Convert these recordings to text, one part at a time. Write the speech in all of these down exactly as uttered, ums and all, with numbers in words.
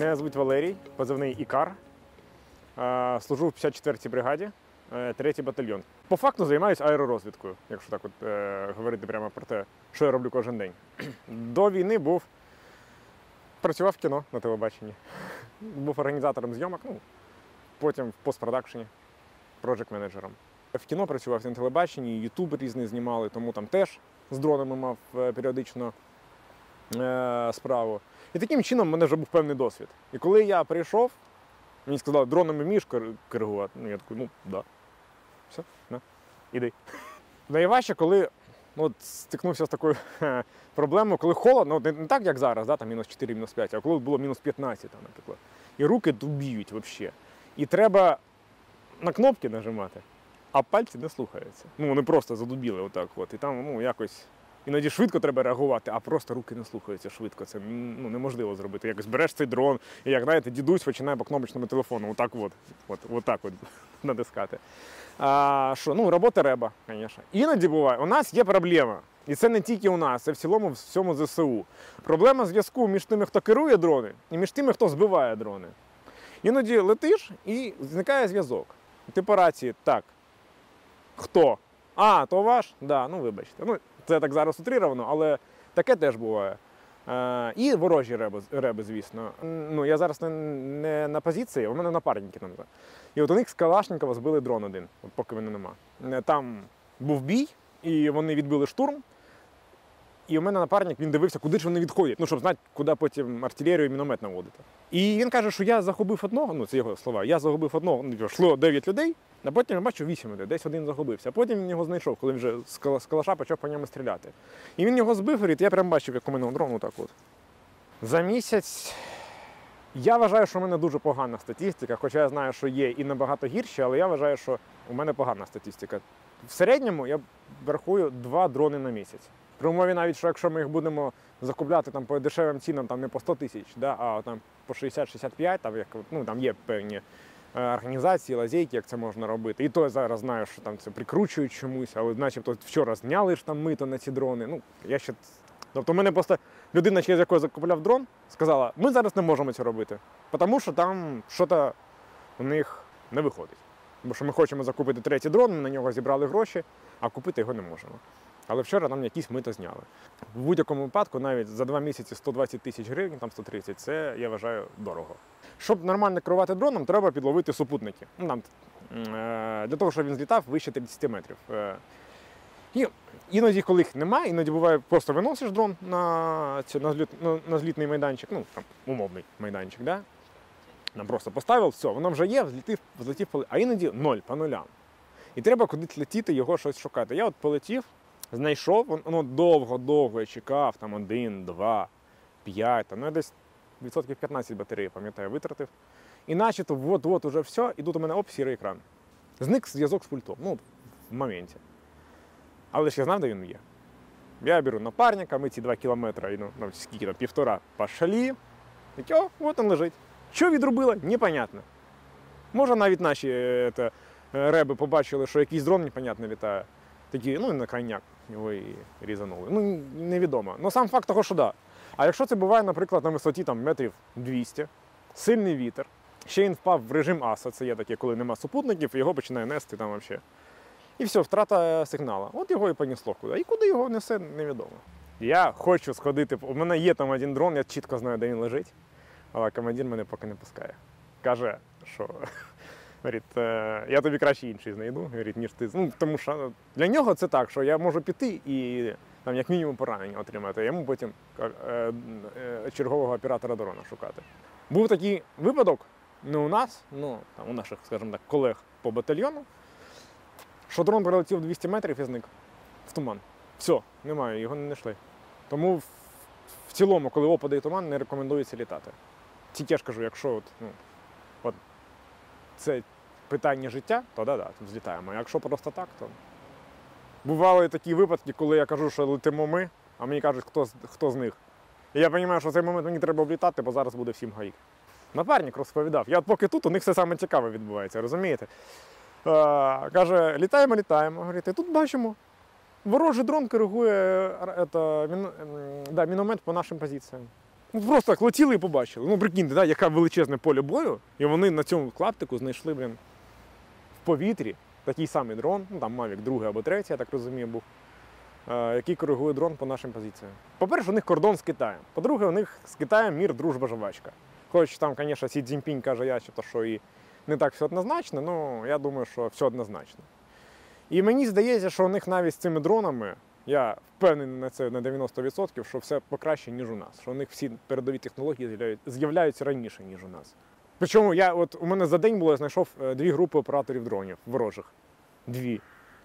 Мене звуть Валерій, позивний Ікар. Служу в п'ятдесят четвертій бригаді, третій батальйон. По факту займаюся аеророзвідкою, якщо так от е, говорити прямо про те, що я роблю кожен день. До війни був, працював в кіно на телебаченні, був організатором зйомок, ну, потім в постпродакшені, проджект-менеджером. В кіно працював на телебаченні, ютуб різний знімали, тому там теж з дронами мав періодично е, справу. І таким чином в мене вже був певний досвід. І коли я прийшов, мені сказали, дронами вмієш коригувати? Ну, я такий, ну, да. Все, на, іди. Найважче, коли ну, от, стикнувся з такою ха, проблемою, коли холодно, ну, не, не так, як зараз, да, там мінус чотири, мінус п'ять, а коли було мінус п'ятнадцять, там, наприклад. І руки дубіють взагалі. І треба на кнопки нажимати, а пальці не слухаються. Ну, вони просто задубіли отак от. І там, ну, якось... Іноді швидко треба реагувати, а просто руки не слухаються швидко. Це ну, неможливо зробити. Якось береш цей дрон, і як, знаєте, дідусь починає по кнопочному телефону отак от, от, от так от натискати. А, що, ну, робота реба, звісно. Іноді буває, у нас є проблема. І це не тільки у нас, це в цілому в всьому зе се у. Проблема зв'язку між тими, хто керує дрони, і між тими, хто збиває дрони. Іноді летиш і зникає зв'язок. Ти по рації, так, хто? А, то ваш? Так, да, ну вибачте. Ну, це так зараз утрировано, але таке теж буває. Е, і ворожі реби, реби, звісно. Ну, я зараз не, не на позиції, у мене напарники там. І от у них з Калашникова збили дрон один, от поки мене нема. Там був бій, і вони відбили штурм. І у мене напарник, він дивився, куди ж вони відходять, ну, щоб знати, куди потім артилерію і міномет наводити. І він каже, що я загубив одного, ну, це його слова, я загубив одного, ну, йшло дев'ять людей, а потім я бачу вісім людей, десь один загубився. А потім він його знайшов, коли вже з калаша почав по ньому стріляти. І він його збив, говорить, я прям бачив, як у мене дрон, так от. За місяць я вважаю, що у мене дуже погана статистика, хоча я знаю, що є і набагато гірші, але я вважаю, що у мене погана статистика. В середньому я рахую два дрони на місяць. При умові навіть, що якщо ми їх будемо закупляти там, по дешевим цінам, там, не по сто тисяч, да, а там, по шістдесят шістдесят п'ять, там, як, ну, там є певні е, організації, лазейки, як це можна робити. І то я зараз знаю, що там це прикручують чомусь, але начебто вчора зняли ж там мито на ці дрони. Ну, я ще... Тобто в мене просто людина, через яку я закупляв дрон, сказала, ми зараз не можемо це робити, тому що там щось у них не виходить. Бо що ми хочемо закупити третій дрон, ми на нього зібрали гроші, а купити його не можемо. Але вчора нам якісь мито зняли. В будь-якому випадку навіть за два місяці сто двадцять тисяч гривень, там сто тридцять, це, я вважаю, дорого. Щоб нормально керувати дроном, треба підловити супутники. Ну, там, для того, щоб він злітав вище тридцять метрів. І іноді, коли їх немає, іноді буває, просто виносиш дрон на, на, зліт, на, на злітний майданчик, ну, там, умовний майданчик, да? Нам просто поставив, все, воно вже є, взлетів, взлетів, а іноді ноль, по нулям. І треба кудись летіти, його щось шукати. Я от полетів, знайшов, воно довго-довго я чекав, там один, два, п'ять, ну я десь відсотків п'ятнадцять батареї, пам'ятаю, витратив. І начебто, от-от уже все, і тут у мене оп, сірий екран. Зник зв'язок з пультом, ну, в моменті. Але ж я знав, де він є. Я беру напарника, ми ці два кілометри, ну, ну скільки там, півтора, пошалі. І о, от він лежить. Що відробило? Непонятно. Може навіть наші це, реби побачили, що якийсь дрон непонятно літає. Такі, ну, на крайняк його і різанули. Ну, невідомо. Ну, сам факт того, що да. А якщо це буває, наприклад, на висоті там, метрів двісті, сильний вітер, ще він впав в режим аса, це є таке, коли нема супутників, і його починає нести там взагалі. І все, втрата сигналу. От його і понесло куди. І куди його несе, невідомо. Я хочу сходити, у мене є там один дрон, я чітко знаю, де він лежить, але командир мене поки не пускає. Каже, що... Говорить, я тобі краще інший знайду, говорить, ніж ти. Ну, тому що для нього це так, що я можу піти і там, як мінімум поранення отримати, а йому потім е, е, чергового оператора дрона шукати. Був такий випадок, не у нас, ну, там, у наших, скажімо так, колег по батальйону, що дрон прилетів двісті метрів і зник в туман. Все, немає, його не знайшли. Тому в, в цілому, коли опаде і туман, не рекомендується літати. Тільки я ж кажу, якщо от, ну, от, це питання життя, то да-да, взлітаємо. А якщо просто так, то... Бували такі випадки, коли я кажу, що летимо ми, а мені кажуть, хто, хто з них. І я розумію, що в цей момент мені треба облітати, бо зараз буде всім гаїк. Напарник розповідав. Я от поки тут, у них все саме цікаве відбувається, розумієте? А, каже, літаємо, літаємо. Говорить, і тут бачимо, ворожий дрон коригує это, мін, да, міномет по нашим позиціям. Ну, просто так летіли і побачили. Ну, прикиньте, да, яке величезне поле бою, і вони на цьому клаптику знайшли, блін, в повітрі такий самий дрон, ну там Mavic другий або третій, я так розумію, був, е, який коригує дрон по нашим позиціям. По-перше, у них кордон з Китаєм. По-друге, у них з Китаєм мір, дружба, жвачка. Хоч там, звісно, Сі Цзіньпінь каже, я, що і не так все однозначно, але я думаю, що все однозначно. І мені здається, що у них навіть з цими дронами, я впевнений на це на дев'яносто відсотків, що все покраще, ніж у нас. Що у них всі передові технології з'являються раніше, ніж у нас. Причому я, от, у мене за день було, я знайшов дві групи операторів дронів ворожих. Дві.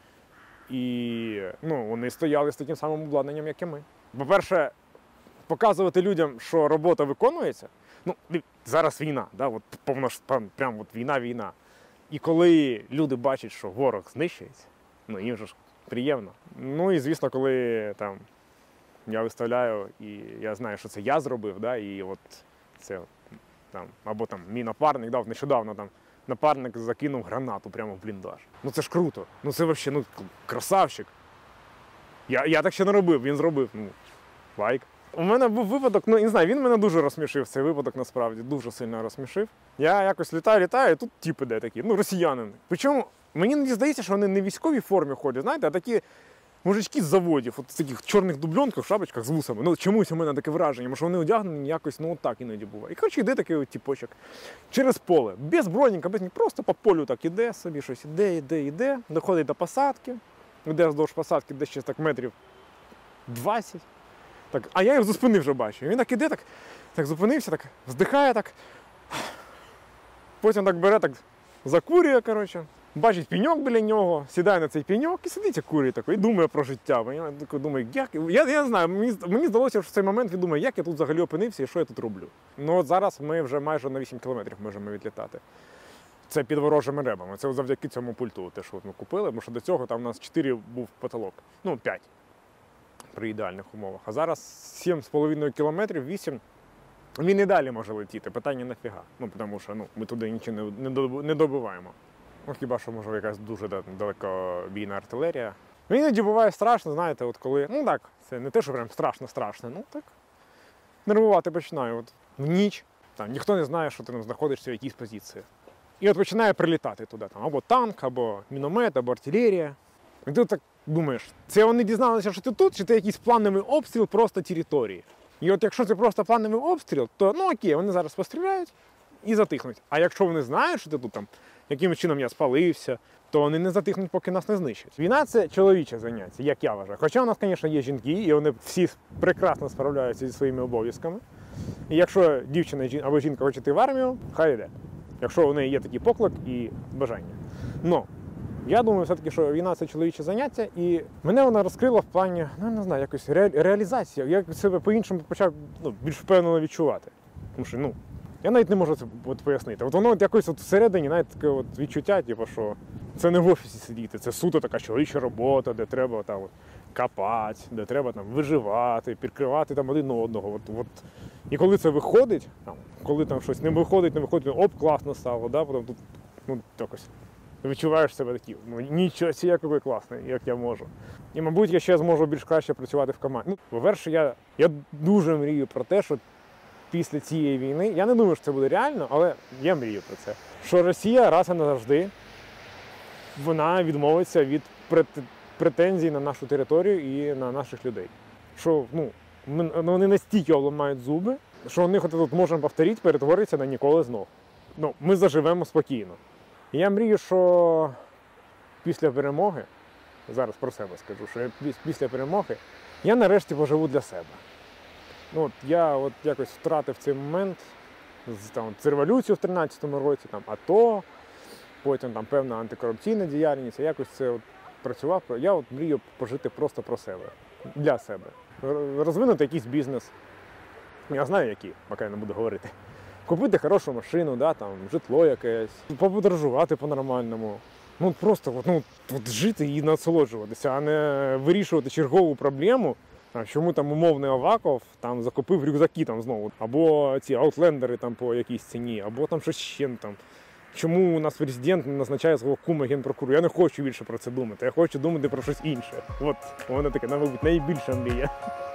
І ну, вони стояли з таким самим обладнанням, як і ми. По-перше, показувати людям, що робота виконується. Ну, зараз війна, да, от, повно, прям от війна-війна. І коли люди бачать, що ворог знищується, ну їм же ж приємно. Ну і звісно, коли там я виставляю і я знаю, що це я зробив, да, і от це там, або там мій напарник, да, нещодавно там напарник закинув гранату прямо в бліндаж. Ну це ж круто. Ну це взагалі, ну, красавчик. Я, я так ще не робив, він зробив. Ну, лайк. У мене був випадок, ну не знаю, він мене дуже розсмішив, цей випадок насправді, дуже сильно розсмішив. Я якось літаю, літаю, і тут тіп іде такий, ну росіянин. Причому мені не здається, що вони не в військовій формі ходять, знаєте, а такі мужички з заводів, от в таких чорних дубльонках, шапочках з вусами. Ну чомусь у мене таке враження, що вони одягнені якось, ну так іноді буває. І коротше йде такий от тіпочок через поле, без броніка, без ні, просто по полю так іде собі, щось іде, іде, іде, доходить до посадки, іде вздовж посадки десь ще так метрів двадцять. Так, а я його зі спини вже бачу. Він так іде, так, так зупинився, так вздихає, так. Потім так бере, так закурює, коротше. Бачить пеньок біля нього, сідає на цей пеньок і сидить і курить такий, і думає про життя. Я думаю, як? Я, я не знаю, мені, мені здалося, що в цей момент він думає, як я тут взагалі опинився і що я тут роблю. Ну от зараз ми вже майже на вісім кілометрів можемо відлітати. Це під ворожими ребами. Це завдяки цьому пульту, те, що ми купили, бо що до цього там у нас чотири був потолок. Ну, п'ять. При ідеальних умовах. А зараз сім з половиною кілометрів, вісім, він і далі може летіти. Питання нафіга. Ну, тому що ну, ми туди нічого не, не добиваємо. Ну, хіба що, може, якась дуже далекобійна артилерія. Ну, іноді буває страшно, знаєте, от коли, ну так, це не те, що прям страшно-страшно, ну так, нервувати починаю. От в ніч, там, ніхто не знає, що ти там знаходишся в якійсь позиції. І от починає прилітати туди, там, або танк, або міномет, або артилерія. І ти так думаєш, це вони дізналися, що ти тут, чи це якийсь плановий обстріл просто території. І от якщо це просто плановий обстріл, то ну окей, вони зараз постріляють і затихнуть. А якщо вони знають, що ти тут там, якимось чином я спалився, то вони не затихнуть, поки нас не знищать. Війна – це чоловіче заняття, як я вважаю. Хоча у нас, звісно, є жінки, і вони всі прекрасно справляються зі своїми обов'язками. І якщо дівчина або жінка хоче йти в армію, хай йде. Якщо у неї є такий поклик і бажання. Но я думаю, все-таки, що війна – це чоловіче заняття, і мене вона розкрила в плані, ну, не знаю, якось ре... реалізація. Я себе по-іншому почав ну, більш впевнено відчувати. Тому що, ну, я навіть не можу це от пояснити. От воно от якось от всередині, навіть таке от відчуття, типу, що це не в офісі сидіти, це суто така чоловіча робота, де треба там от, копати, де треба там виживати, підкривати там один одного. От, от. І коли це виходить, там, коли там щось не виходить, не виходить, оп, класно стало, да, потім тут, ну, якось. Ти відчуваєш себе таким, ну нічого, який класний, як я можу. І, мабуть, я ще зможу більш краще працювати в команді. Ну, по-перше, я, я дуже мрію про те, що після цієї війни, я не думаю, що це буде реально, але я мрію про це, що Росія раз і назавжди, вона відмовиться від претензій на нашу територію і на наших людей. Що, ну, вони настільки обламають зуби, що у них от тут можемо повторити, перетвориться на ніколи знов. Ну, ми заживемо спокійно. І я мрію, що після перемоги, зараз про себе скажу, що я після перемоги, я нарешті поживу для себе. Ну, от я от якось втратив цей момент, там, з революцію в тринадцятому році, там, АТО, потім там, певна антикорупційна діяльність, я якось це от працював. Я от мрію пожити просто про себе, для себе. Розвинути якийсь бізнес. Я знаю, який, поки я не буду говорити. Купити хорошу машину, да, там, житло якесь, подорожувати по-нормальному. Ну, просто от, ну, от жити і насолоджуватися, а не вирішувати чергову проблему, там, чому там умовний Аваков там, закупив рюкзаки там, знову, або ці аутлендери там, по якійсь ціні, або там щось ще там. Чому у нас президент не назначає свого кума генпрокурора? Я не хочу більше про це думати, я хочу думати про щось інше. От, у мене таке, мабуть, найбільша мрія.